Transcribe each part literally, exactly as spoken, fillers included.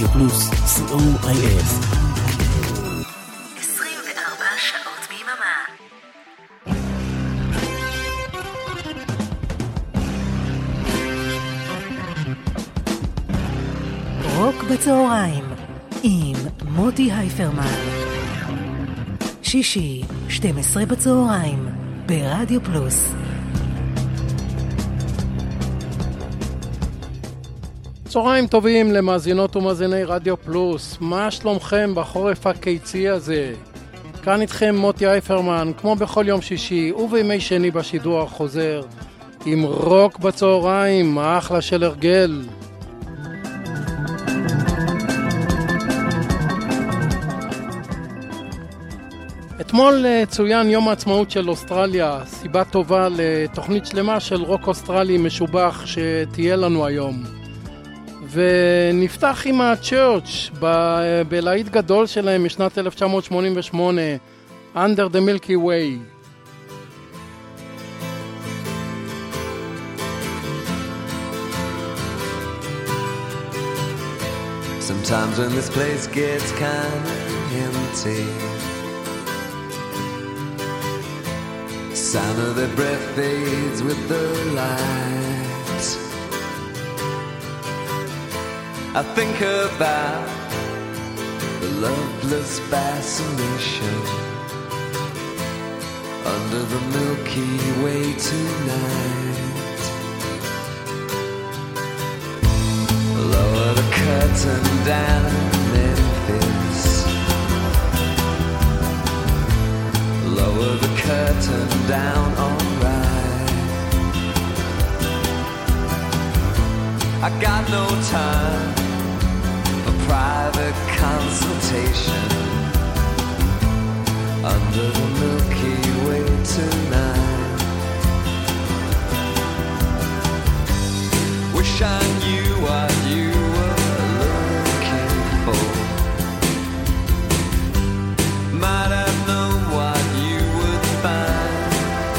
רדיו פלוס, סי או איי אס. עשרים וארבע שעות ביממה. רוק בצהריים עם מוטי הייפרמן. שישי, שתים עשרה בצהריים, ברדיו פלוס. צהריים טובים למאזינות ומאזיני רדיו פלוס. מה שלומכם בחורף הקיצי הזה? כאן איתכם מוטי הייפרמן, כמו בכל יום שישי ובימי שני בשידור החוזר, עם רוק בצהריים, אחלה של הרגל. אתמול צוין יום העצמאות של אוסטרליה, סיבה טובה לתוכנית שלמה של רוק אוסטרלי משובח שתהיה לנו היום. ונפתח עם הצ'רץ' בלהיט גדול שלהם משנת אלף תשע מאות שמונים ושמונה, Under the Milky Way. Sometimes when this place gets kind of empty, sound of their breath fades with the light. I think about the loveless fascination under the Milky Way tonight. Lower the curtain down, Memphis. Lower the curtain down, alright. I got no time for private consultation under the Milky Way tonight. Wish I knew what you were looking for. Might have known what you would find.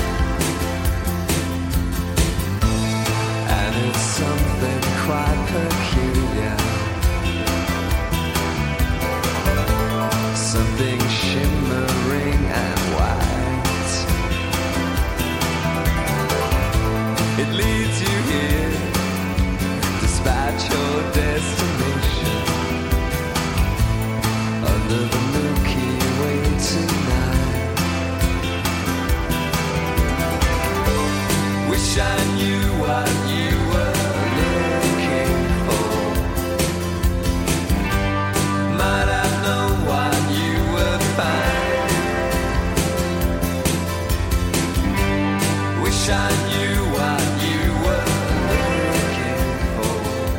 And it's something quite peculiar, something shimmering and white. It leads you here despite your destination under the Milky Way tonight. Wish I knew what you were looking for. Might have known what you would find. Wish I knew what you were looking for.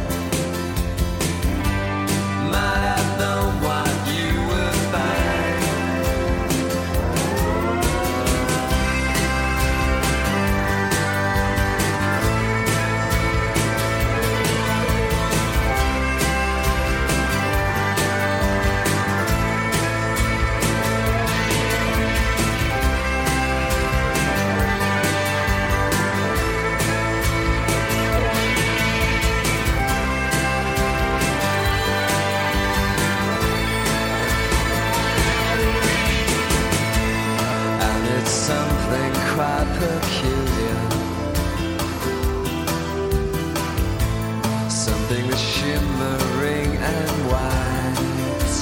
Might have known what you would find. And it's something quite peculiar, something that's shimmering and white.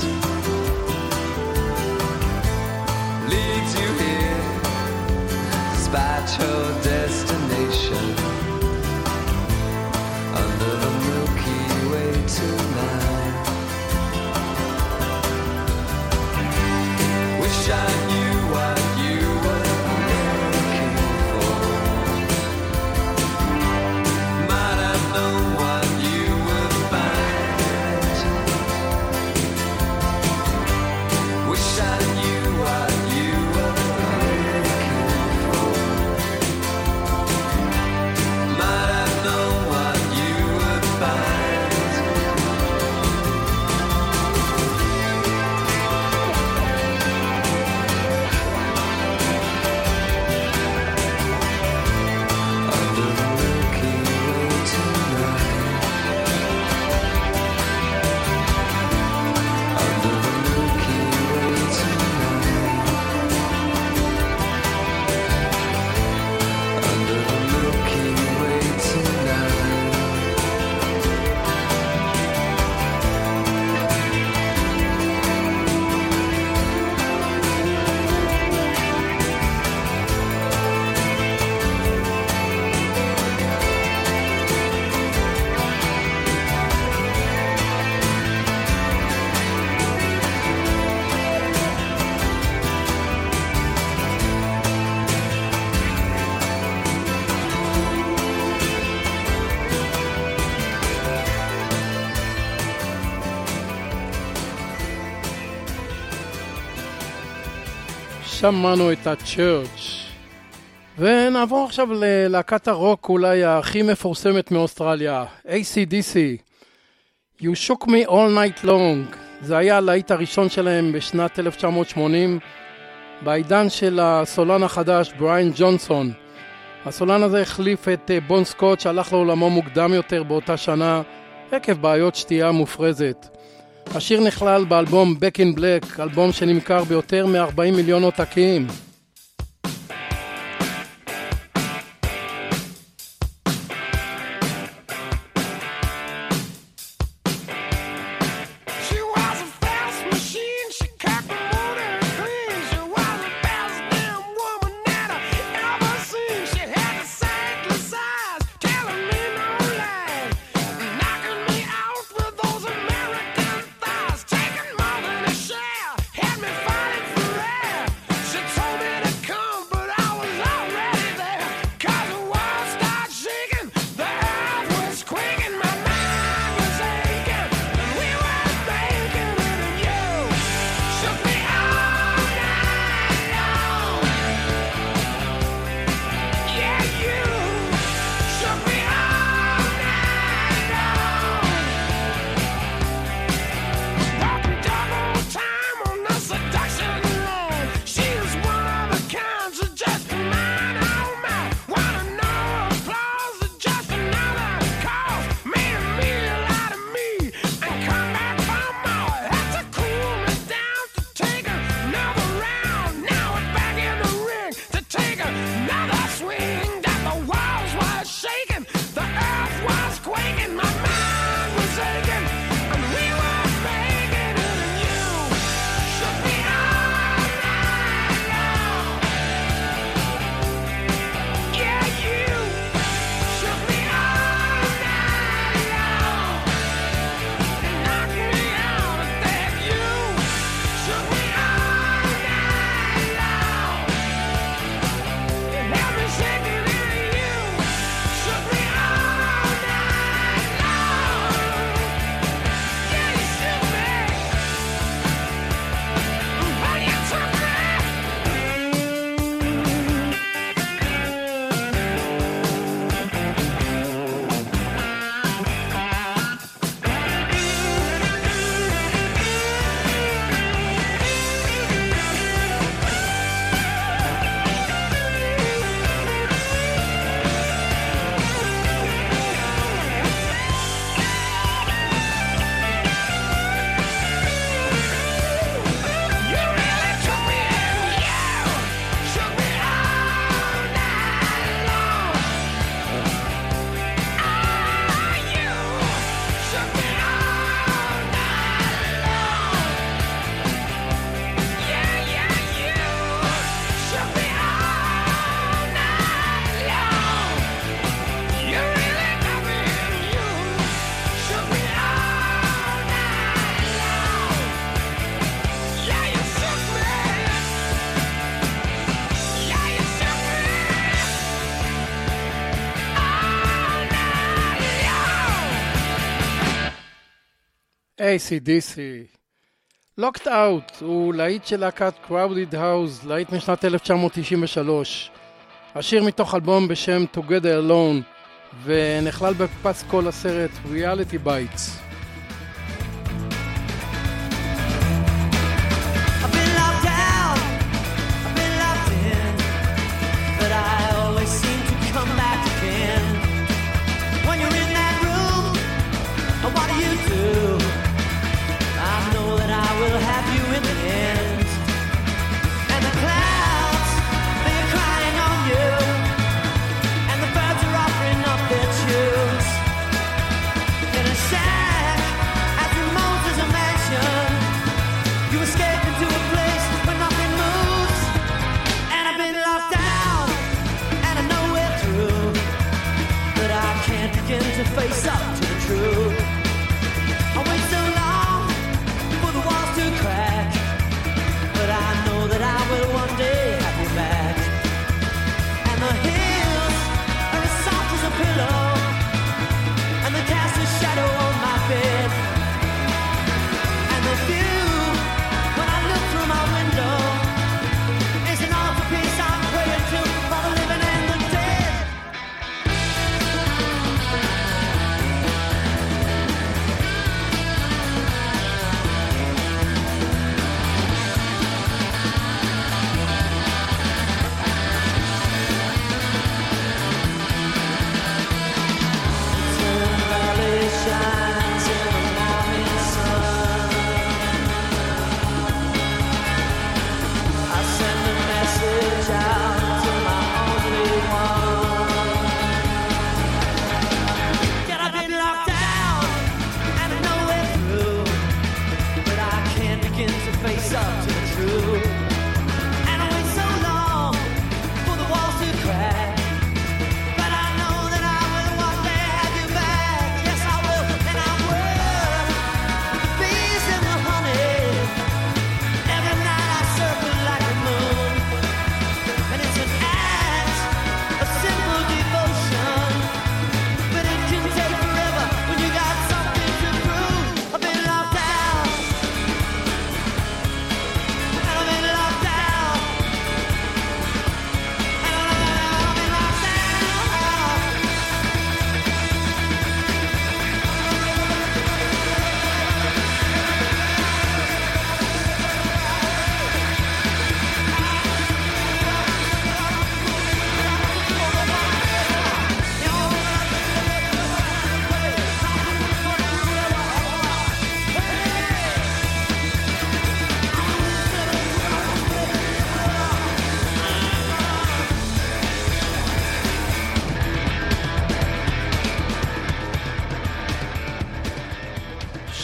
Leads you here despite your destination under the Milky Way tonight. Wish I knew what you were looking for. Might have known what you would find. Wish I knew what you were looking for. שמענו את ה-Church. ונעבור עכשיו ללהקת הרוק אולי הכי מפורסמת מאוסטרליה, איי סי די סי. You Shook Me All Night Long. זה היה הלהיט הראשון שלהם בשנת אלף תשע מאות שמונים, בעידן של הסולן החדש, בריין ג'ונסון. הסולן הזה החליף את בון סקוט שהלך לעולמו מוקדם יותר באותה שנה, עקב בעיות שתייה מופרזת. השיר נכלל באלבום Back in Black, אלבום שנמכר ביותר מ-ארבעים מיליון עותקים. איי סי די סי. Locked Out הוא להיט של להקת Crowded House, להיט משנת אלף תשע מאות תשעים ושלוש. השיר מתוך אלבום בשם Together Alone, ונכלל בפס כל הסרט Reality Bites. Sad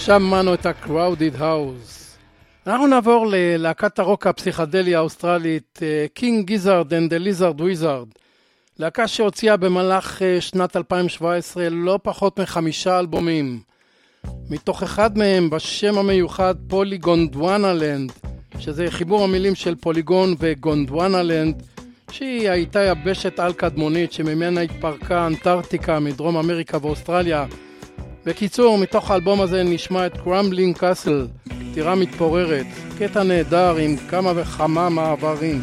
שמענו את ה-Crowded House. אנחנו נעבור ללהקת הרוק הפסיכדלי האוסטרלית King Gizzard and the Lizard Wizard. להקה שהוציאה במהלך שנת אלפיים שבע עשרה לא פחות מחמישה אלבומים. מתוך אחד מהם בשם המיוחד פוליגונדואנלנד, שזה חיבור המילים של פוליגון וגונדואנלנד, שהיא הייתה יבשת על קדמונית שממנה התפרקה אנטארקטיקה מדרום אמריקה ואוסטרליה. בקיצור, מתוך האלבום הזה נשמע את Crumbling Castle, טירה מתפוררת, קטע נהדר עם כמה וכמה מעברים.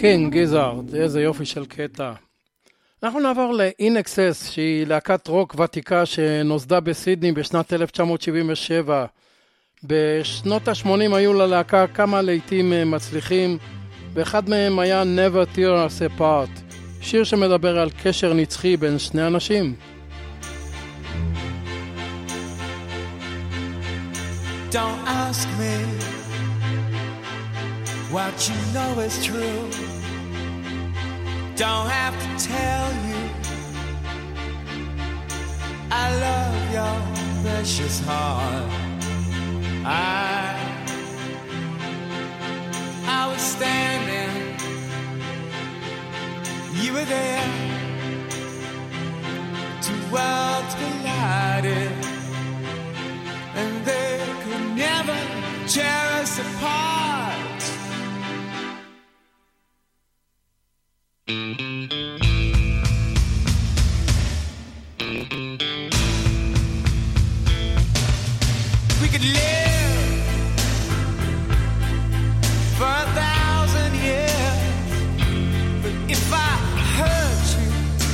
כן, גיזארד, איזה יופי של קטע. אנחנו נעבור ל-In Excess, שהיא להקת רוק ותיקה שנוסדה בסידני בשנת אלף תשע מאות שבעים ושבע. בשנות ה-שמונים היו ללהקה כמה לעיתים מצליחים, ואחד מהם היה Never Tear Us Apart, שיר שמדבר על קשר נצחי בין שני אנשים. Don't ask me what you know is true. Don't have to tell you I love your precious heart. I I was standing, you were there. Two worlds collided, and they could never tear us apart. We could live for a thousand years, but if I hurt you,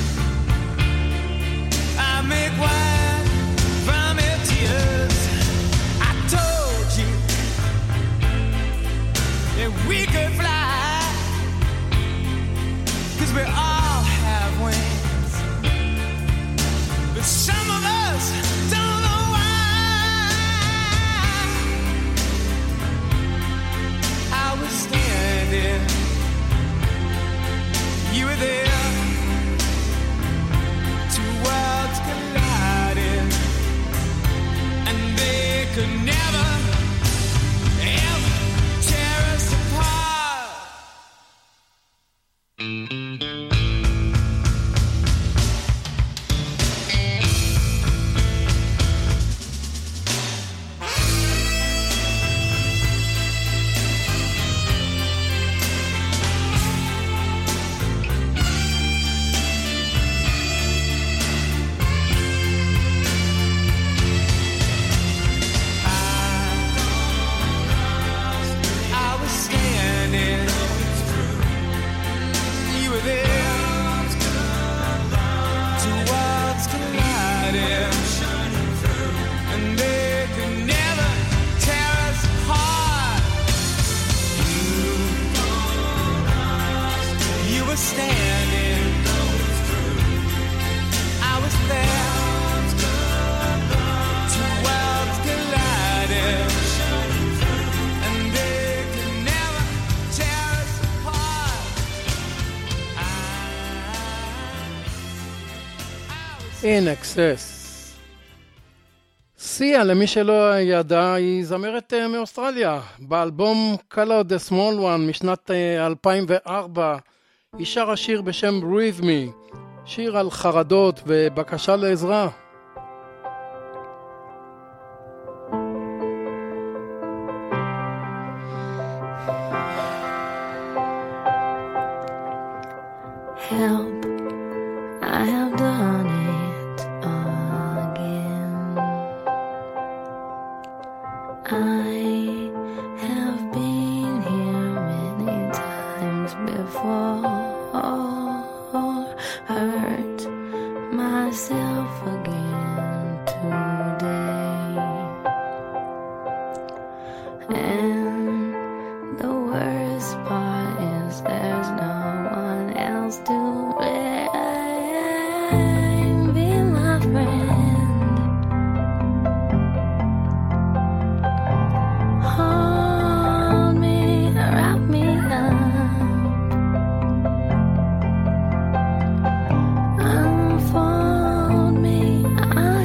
I make wine from your tears. I told you that we could fly, 'cause we all have wings, but some of us don't know why. I was standing, you were there. Two worlds collided, and they could never, ever tear us apart. I was standing, you were there. Two worlds collided, and they could never tear us apart. You were standing, I was there. Two worlds collided, and they could never tear us apart. In Excess. סיה, למי שלא ידע, היא זמרת אה, מאוסטרליה. באלבום Color the Small One משנת אה, אלפיים וארבע, היא שרה שיר בשם Breathe Me, שיר על חרדות ובקשה לעזרה. Help, I have done it again. I have been here many times before, hurt myself again today. And the worst part is there's no one else to blame. Be my friend, hold me, wrap me up, unfold me. I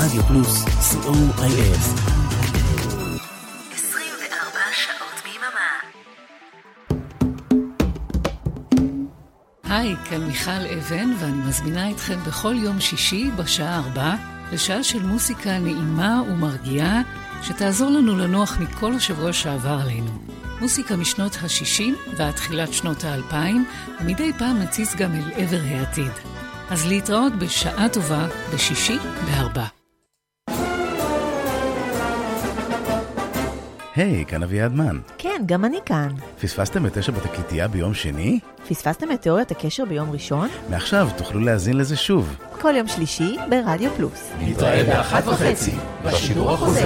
רדיו פלוס, סי או איי אס. עשרים וארבע שעות ביממה. היי, כאן מיכל אבן, ואני מזמינה אתכם בכל יום שישי בשעה ארבע לשעה של מוסיקה נעימה ומרגיעה שתעזור לנו לנוח מכל השבוע שעבר עלינו. מוסיקה משנות ה-שישים ועד תחילת שנות ה-אלפיים, ומדי פעם נציץ גם אל עבר העתיד. אז להתראות בשעה טובה בשישי בארבע. היי, כאן אביעד מן. כן, גם אני כאן. פספסתם את תשע בתקליטייה ביום שני? פספסתם את תיאוריית הקשר ביום ראשון? מעכשיו תוכלו להאזין לזה שוב. כל יום שלישי ברדיו פלוס. נתראה באחת וחצי, בשידור החוזר.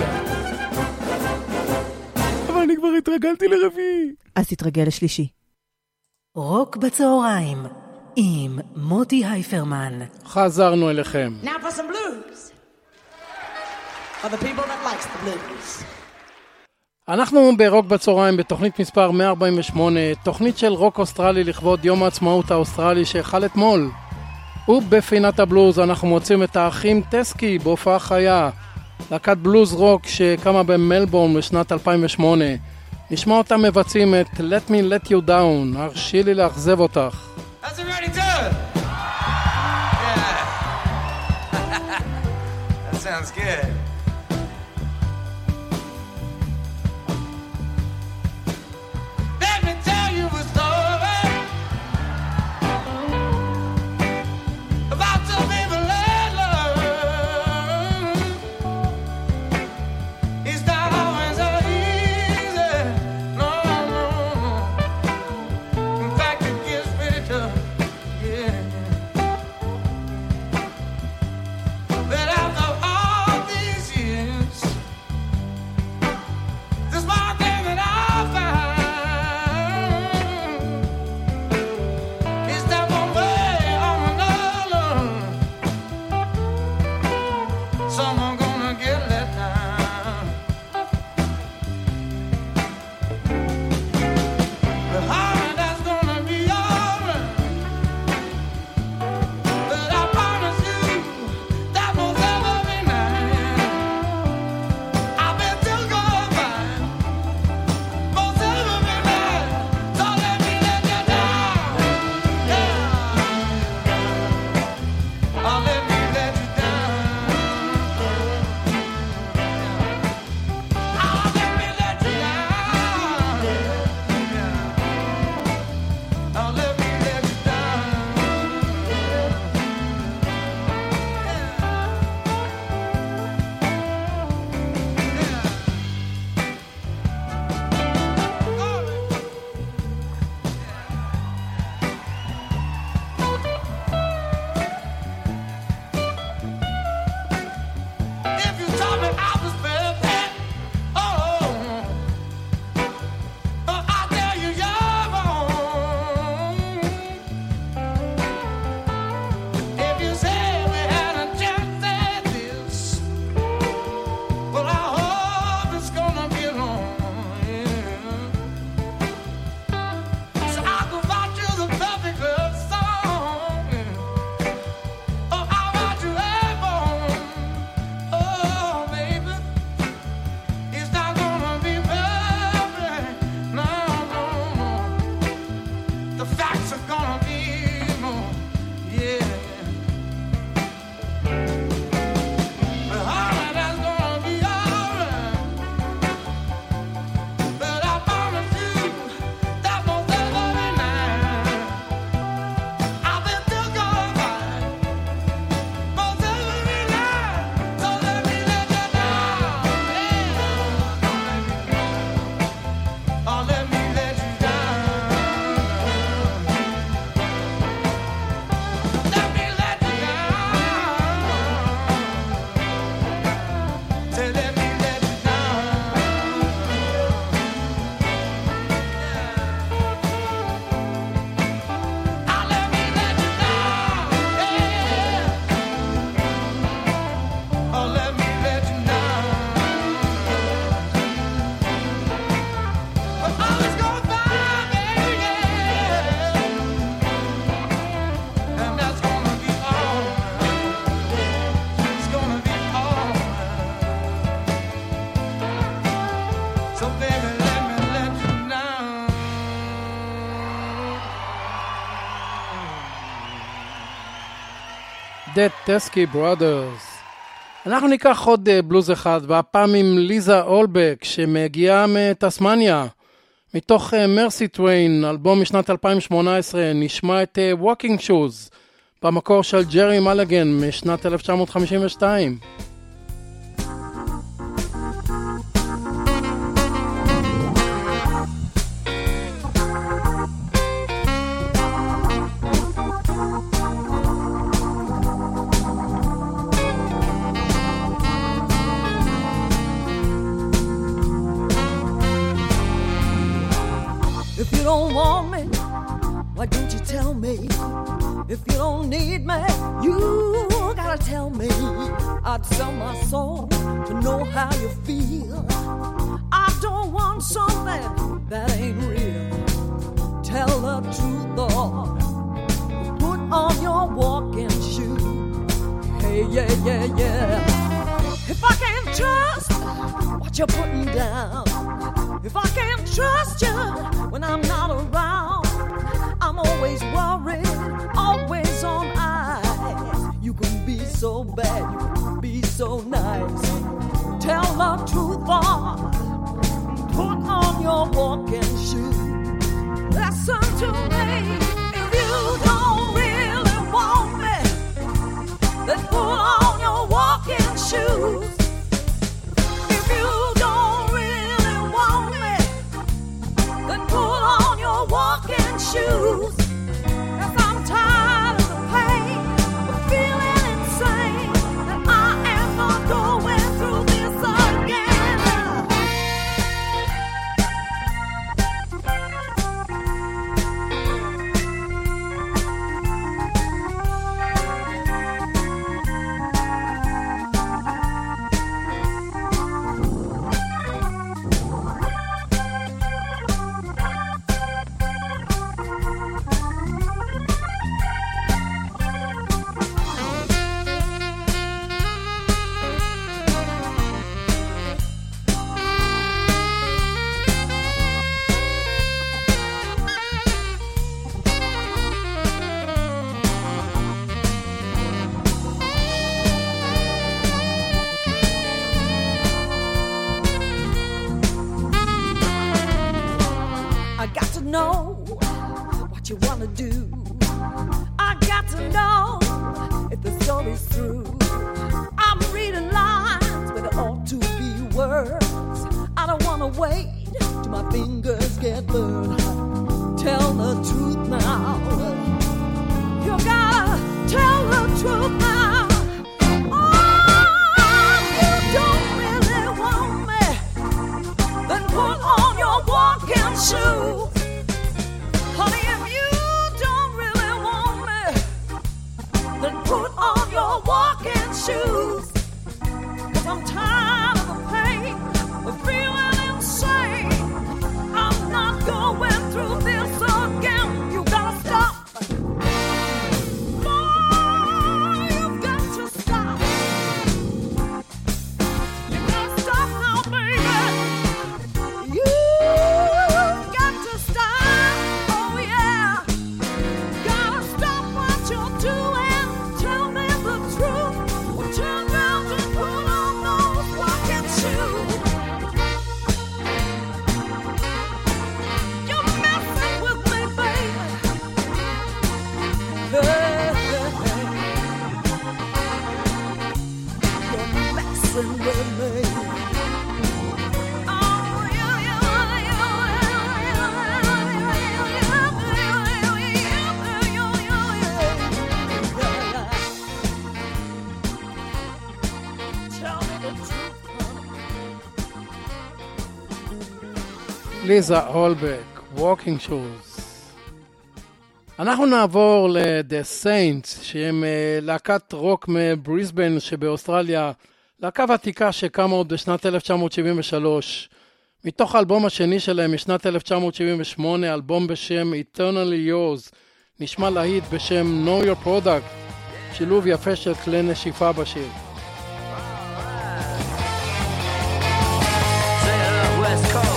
אבל אני כבר התרגלתי לרביעי. אז תתרגל לשלישי. רוק בצהריים עם מוטי הייפרמן. חזרנו אליכם. Now for some blues. For the people that likes the blues. אנחנו ברוק בצהריים בתוכנית מספר מאה ארבעים ושמונה, תוכנית של רוק אוסטרלי לכבוד יום העצמאות האוסטרלי שהחל אתמול. ובפינת הבלוז אנחנו מוצאים את האחים טסקי בהופעה חיה, להקת בלוז רוק שקמה במלבורן בשנת אלפיים ושמונה. נשמע אותם מבצעים את Let Me Let You Down, הרשי לי לאכזב אותך. How's it ready to? Yeah. That sounds good. Let me tell you a story about some people that love. It's not always so easy. No, no, no. In fact, it gets pretty tough. Yeah. But after all these years, this one thing that I found is that one way or another, someone gonna get let down. But honey, that's gonna be alright. But I promise you that most every night I've been too good by most every night. So let me let you down, yeah. Oh, let me let you down. The Teskey Brothers. אנחנו ניקח עוד בלוז אחד, והפעם עם ליזה אולבק, שמגיעה מטסמניה. מתוך מרסי טוויין, אלבום משנת אלפיים שמונה עשרה, נשמע את Walking Shoes, במקור של ג'רי מלגן משנת אלף תשע מאות חמישים ושתיים. If you don't want me, why don't you tell me? If you don't need me, you gotta tell me. I'd sell my soul to know how you feel. I don't want something that ain't real. Tell the truth, Lord. Put on your walking shoes. Hey, yeah, yeah, yeah. If I can't trust what you're putting down, if I can't trust you when I'm not around, I'm always worried, always on eyes. You can be so bad, you can be so nice. Tell the truth, Lord. Put on your walking shoes. Listen to me. If you don't really want me, then put on your walking shoes. If you don't really want me, then put on your walking shoes. 'Cause I'm tired of the pain, of feeling insane, and I am not going through this again. I got to know what you want to do. I got to know if the story's through. I'm reading lines, but it ought to be words. I don't want to wait till my fingers get burned. Tell the truth now. You gotta tell the truth now. Oh, you don't really want me, then put on your walking shoes. Honey, if you don't really want me, then put on your walking shoes. 'Cause I'm tired of the pain, of feeling insane. I'm not going through this again. You gotta stop. Boy, you've got to stop. You gotta stop now, baby. You've got to stop. Oh, yeah. Gotta stop what you're doing. Tell me the truth. Or turn round and put on those walking shoes. You're messing with me, baby. Hey, hey, hey. You're messing with me. Oh, yeah, yeah, yeah, yeah. Tell me the truth, honey. ליזה אולבק, Walking Shoes. אנחנו נעבור ל-The Saints, שהם אה, להקת רוק מבריסבן שבאוסטרליה, להקה ותיקה שקמה עוד בשנת אלף תשע מאות שבעים ושלוש. מתוך האלבום השני שלהם משנת אלף תשע מאות שבעים ושמונה, אלבום בשם Eternally Yours, נשמע להיט בשם Know Your Product, שילוב יפה של כלי נשיפה בשיר. West Coast.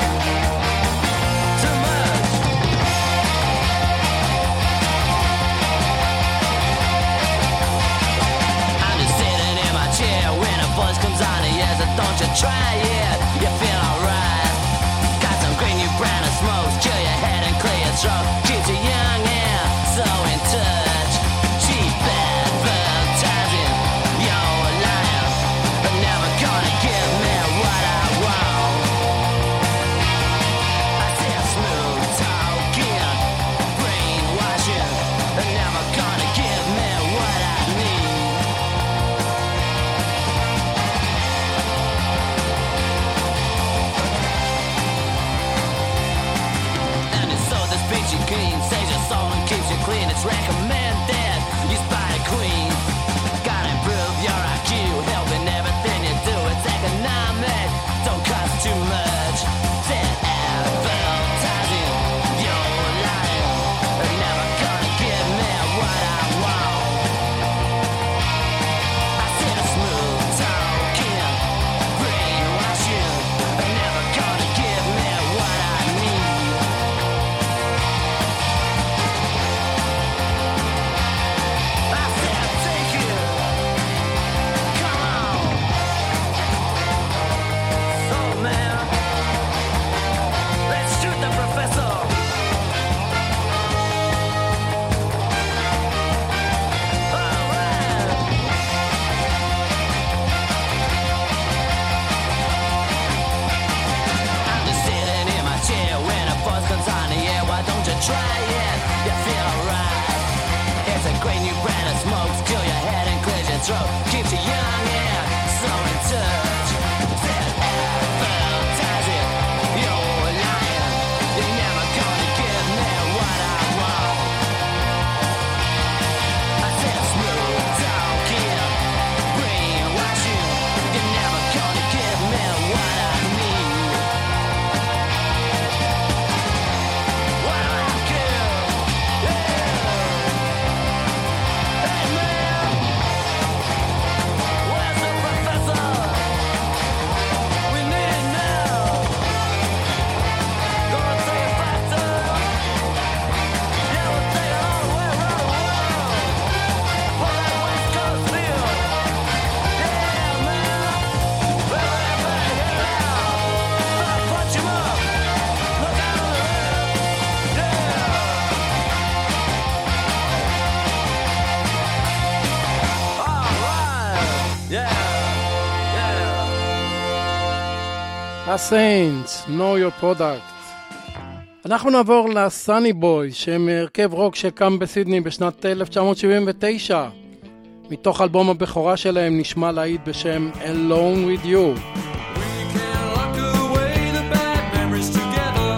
Too much. try it, you feel alright. Got some green new brand of smokes, chill your head and clear your throat. Keeps you young and so in touch. Cheap advertising, you're lying, but never gonna give me what I want. I say smooth talking, brainwashing, but never gonna give me what I need. And it's so this beats you clean, saves your soul and keeps you clean. It's recommended, you spy the queen. Gotta improve your I Q, helping everything you do. It's economic, don't cost too much. Said advertising, you're lying, but never gonna give me what I want. I said smooth talking, brainwashing, but never gonna give me what I need. I said take it, come on. So man, let's shoot the professor. Alright. I'm just sitting in my chair when a voice comes on the air. Why don't you try it? You feel alright. It's a great new brand of smokes. Kill your head and clear your throat. Keeps you young and so in touch. Said advertising, you're lying. You're never gonna give me what I want. I said smooth talking, brainwashing. You're never gonna give me what I need. What do I care? Yeah. Hey man, where's the professor? We need now. Gonna take it faster. Yeah, we'll take it all the way around the world. For that West Coast feel. Yeah, man. Well, everybody get it out. Start punch 'em up. Look out on the road. Yeah. All right. Yeah. Yeah. הסיינטס, know your product. אנחנו נעבור לסאני בוי, שהם הרכב רוק שקם בסידני בשנת אלף תשע מאות שבעים ותשע. מתוך אלבום הבכורה שלהם נשמע להיט בשם Alone With You. Lock away the bad memories together.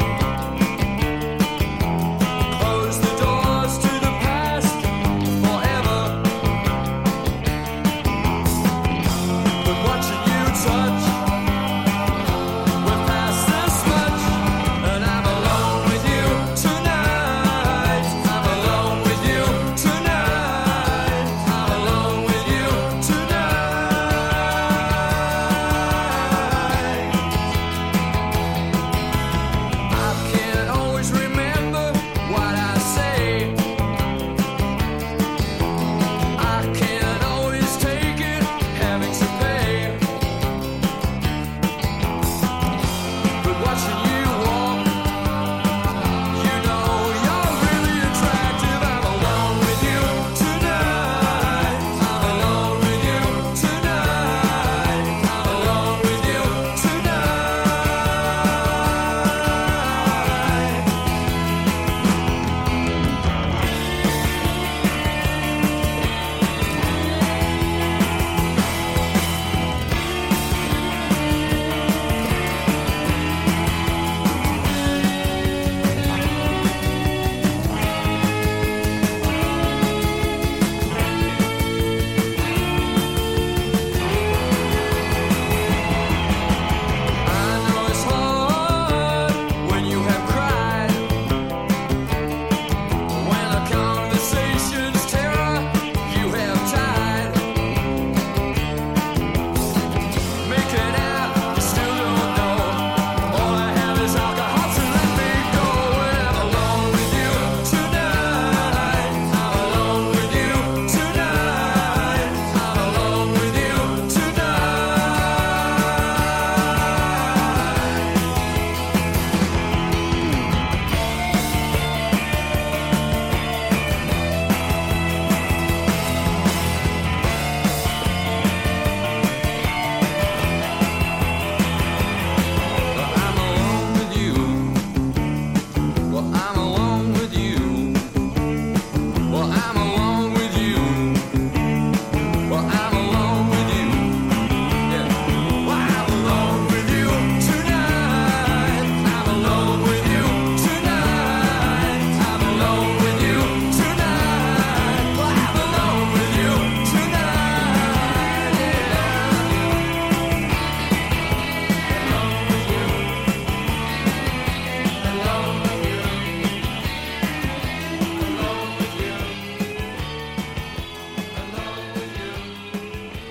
Close the doors to the past forever. But watching you touch, we're past this much. And I'm alone with you tonight. I'm alone with you tonight. I'm alone with you tonight.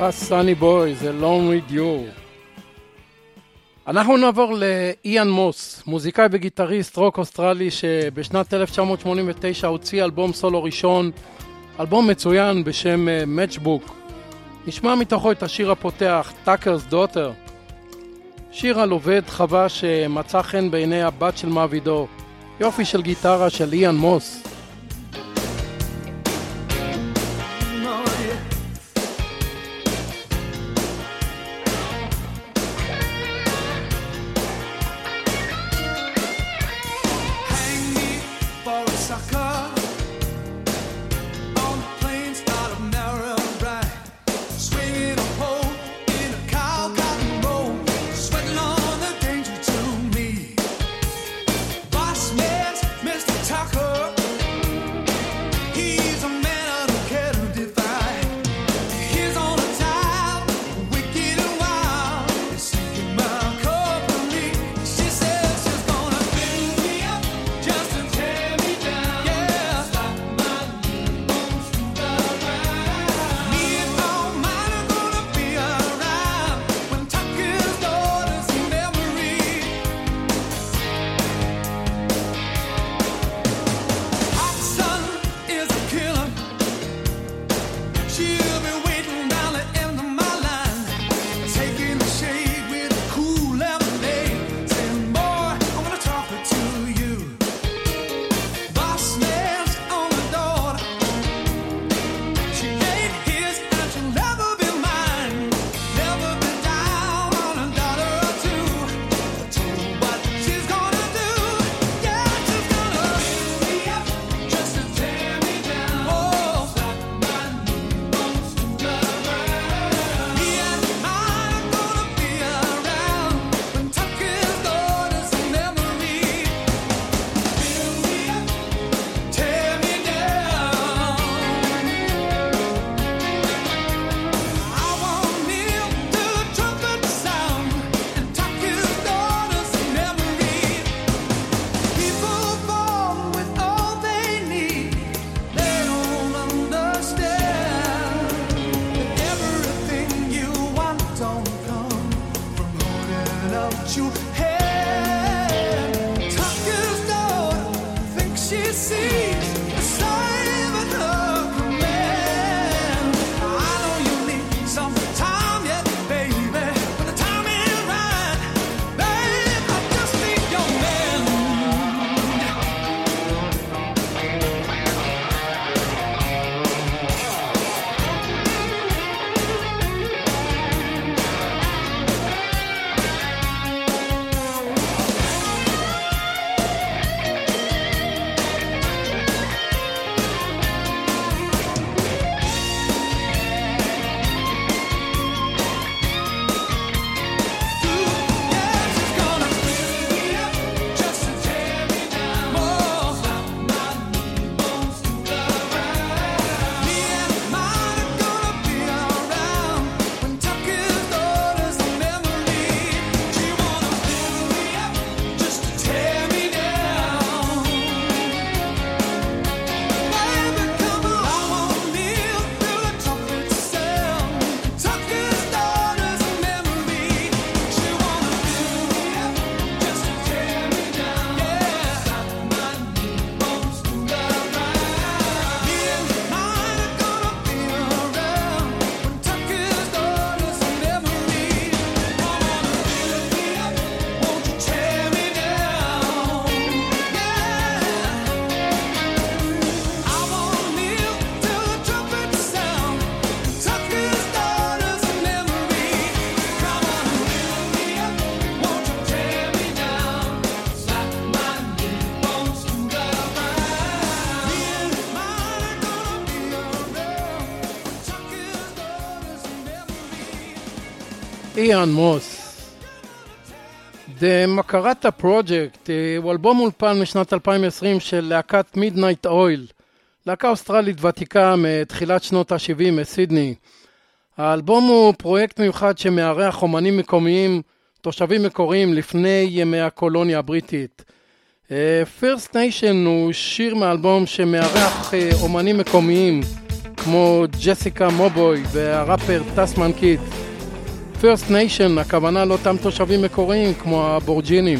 הסאני בוי, זה Long With You. אנחנו נעבור לאיאן מוס, מוזיקאי וגיטריסט רוק אוסטרלי שבשנת אלף תשע מאות שמונים ותשע הוציא אלבום סולו ראשון, אלבום מצוין בשם Matchbook. נשמע מתוכו את השיר הפותח, Tucker's Daughter. שיר על עובד חווה שמצא חן בעיני הבת של מעבידו. יופי של גיטרה של איאן מוס. איאן מוס. The Makarata Project הוא אלבום אולפן משנת אלפיים ועשרים של להקת Midnight Oil, להקה אוסטרלית ותיקה מתחילת שנות ה-שבעים מסידני. האלבום הוא פרויקט מיוחד שמארח אומנים מקומיים, תושבים מקוריים לפני ימי הקולוניה הבריטית. First Nation הוא שיר מאלבום שמארח אומנים מקומיים כמו ג'סיקה מובוי והראפר טסמן קיד. First Nation, הכוונה לאותם תושבים מקוריים כמו האבורג'ינים.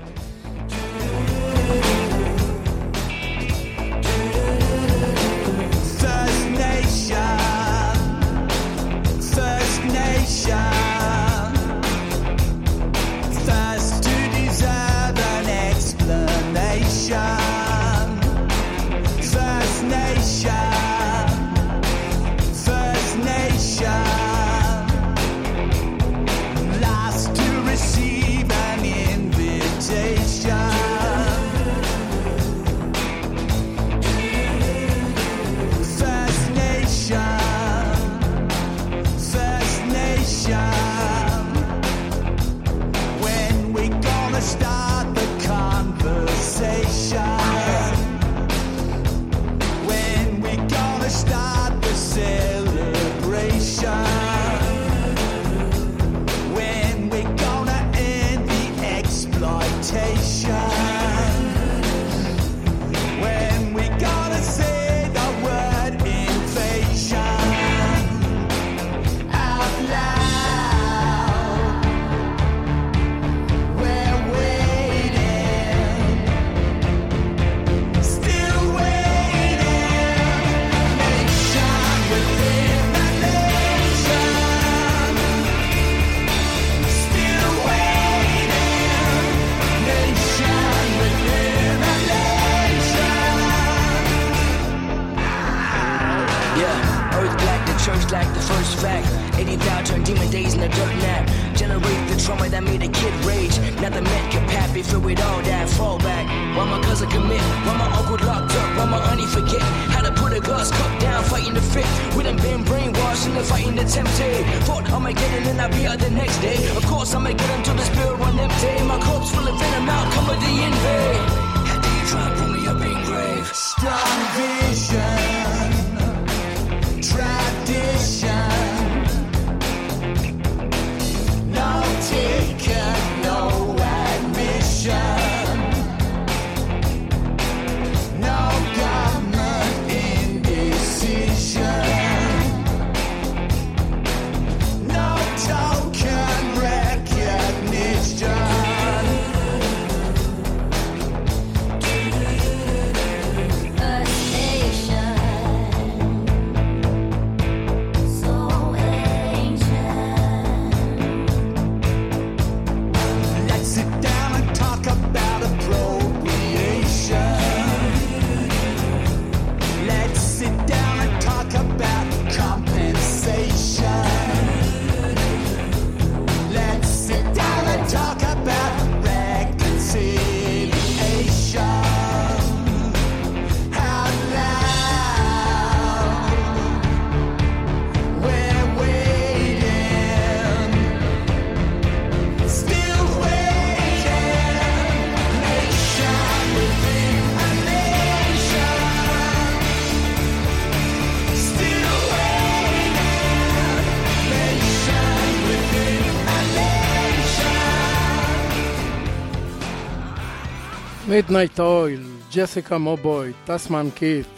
מידנייט אויל, ג'סיקה מובוי, טסמן קיט.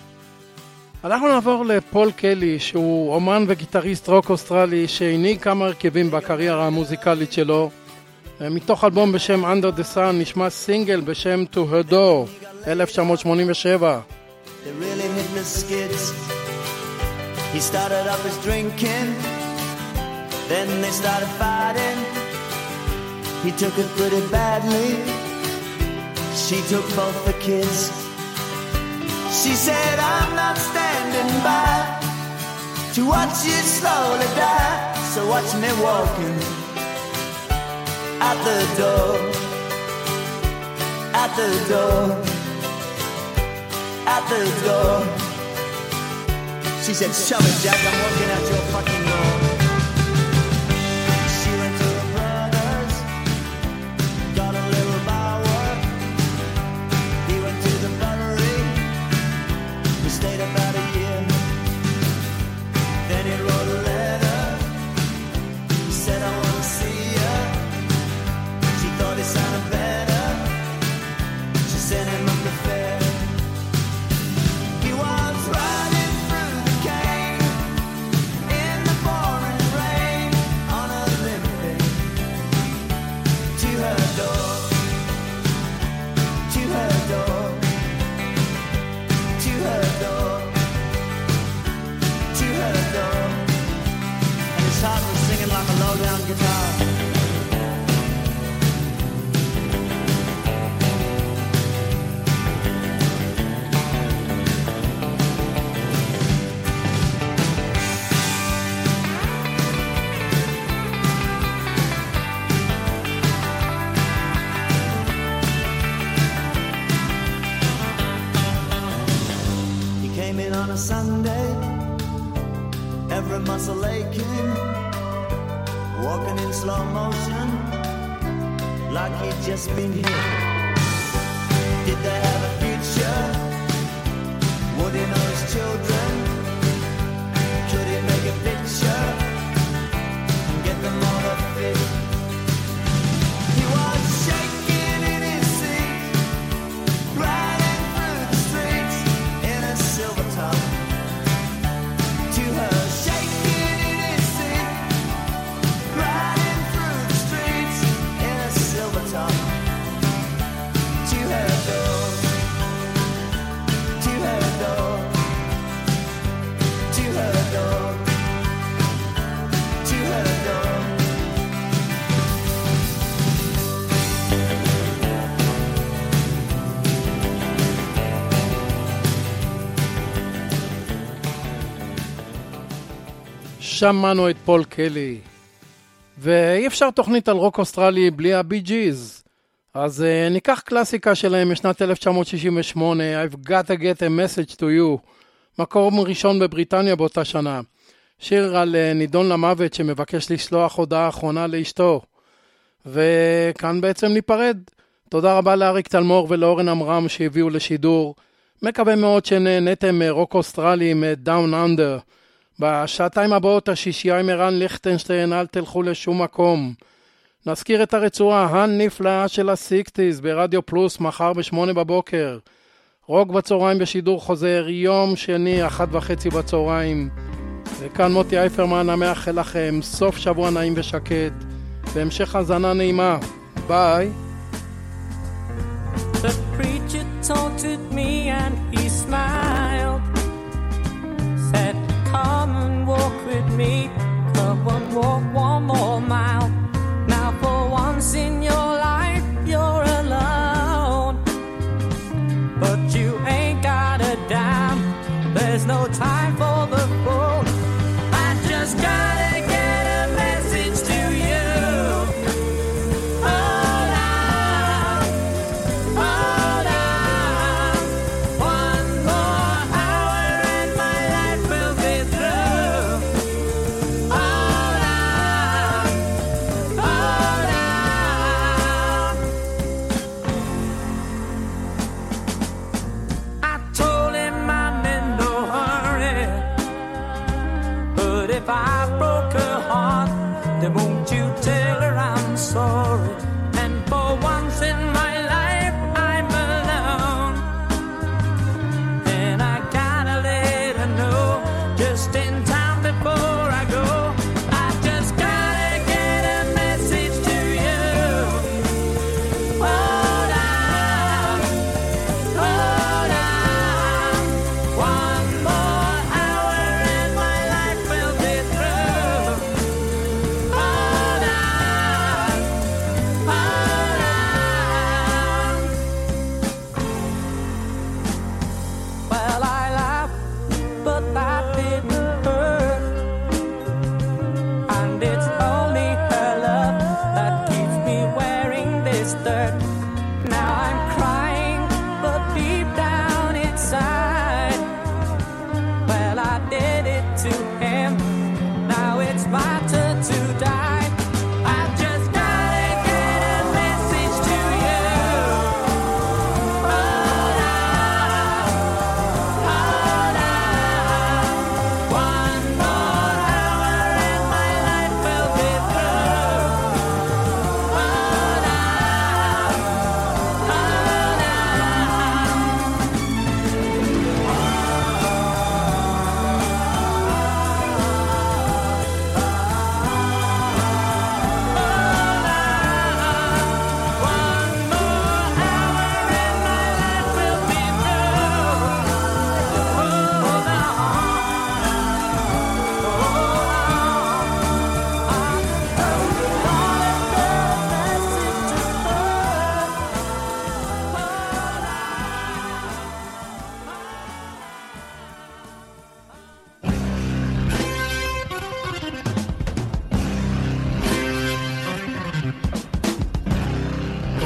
אנחנו נעבור לפול קלי, שהוא אומן וגיטריסט רוק אוסטרלי שהנהיג כמה הרכבים בקריירה המוזיקלית שלו. מתוך אלבום בשם Under the Sun נשמע סינגל בשם To Her Door, אלף תשע מאות שמונים ושבע. They really hit the skids. He started up his drinking, then they started fighting. He took it pretty badly. She took both the kids. She said, I'm not standing by to watch you slowly die. So watch me walking out the door, out the door, out the door. She said, shove it, Jack, I'm walking out your fucking door. She went to her brother's, got a little bower. He went to the buttery, he stayed about a year. Then he wrote a letter, he said, I want to see you. She thought he sounded better, she sent him up the fair. He was riding through the camp. like a low-down guitar. A Sunday, every muscle aching, walking in slow motion, like he'd just been hit. Did they have a future? Would he know his children? Could he make a picture and get them all to fit? He was shaking in his seat, riding through the streets in a silver top. שמענו את פול קלי, ואי אפשר תוכנית על רוק אוסטרלי בלי הבי ג'יז. אז uh, ניקח קלאסיקה שלהם משנת אלף תשע מאות שישים ושמונה, I've got to get a message to you, מקום ראשון בבריטניה באותה שנה. שיר על uh, נידון למוות שמבקש לשלוח הודעה אחרונה לאשתו. וכאן בעצם ניפרד. תודה רבה לאריק תלמור ולאורן אמרם שהביאו לשידור. מקווה מאוד שנהנתם מרוק אוסטרלי מדאון אנדר. בשעתיים הבאות השישייה עם ערן ליכטנשטיין, אל תלכו לשום מקום. נזכיר את הרצועה הנפלאה של הסיקסטיז ברדיו פלוס מחר בשמונה בבוקר. רוק בצהריים בשידור חוזר יום שני אחת וחצי בצהריים. וכאן מוטי אייפרמן המאחל לכם סוף שבוע נעים ושקט והמשך הזנה נעימה. ביי. The preacher taunted me and he smiled, said come and walk with me, come and walk one more mile. Now for once in your life you're alone, but you ain't got a dime, there's no time for the fool. I just gotta get a message to you. Hold on, hold on, one more hour and my life will be through. Hold on, hold on. I told him I'm in no hurry, but if I broke her heart, then won't you tell her I'm sorry? And for once in my life I'm alone, and I gotta let her know just in time before I go. I just gotta get a message to you. Hold on, hold on, one more hour and my life will be through. Hold on,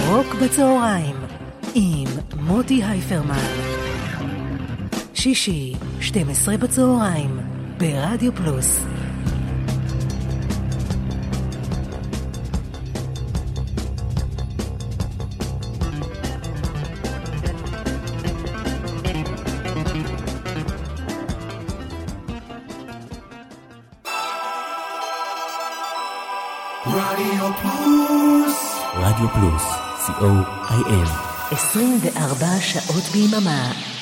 רוק בצהריים עם מוטי הייפרמן. שישי, שתים עשרה בצהריים, ברדיו פלוס. רדיו פלוס. רדיו פלוס, סי או איי אל. עשרים וארבע שעות ביממה.